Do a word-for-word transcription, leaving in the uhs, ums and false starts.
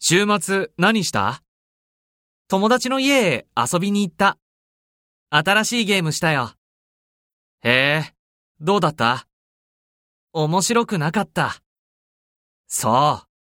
週末何した？友達の家へ遊びに行った。新しいゲームしたよ。へえ、どうだった？面白くなかった。そう。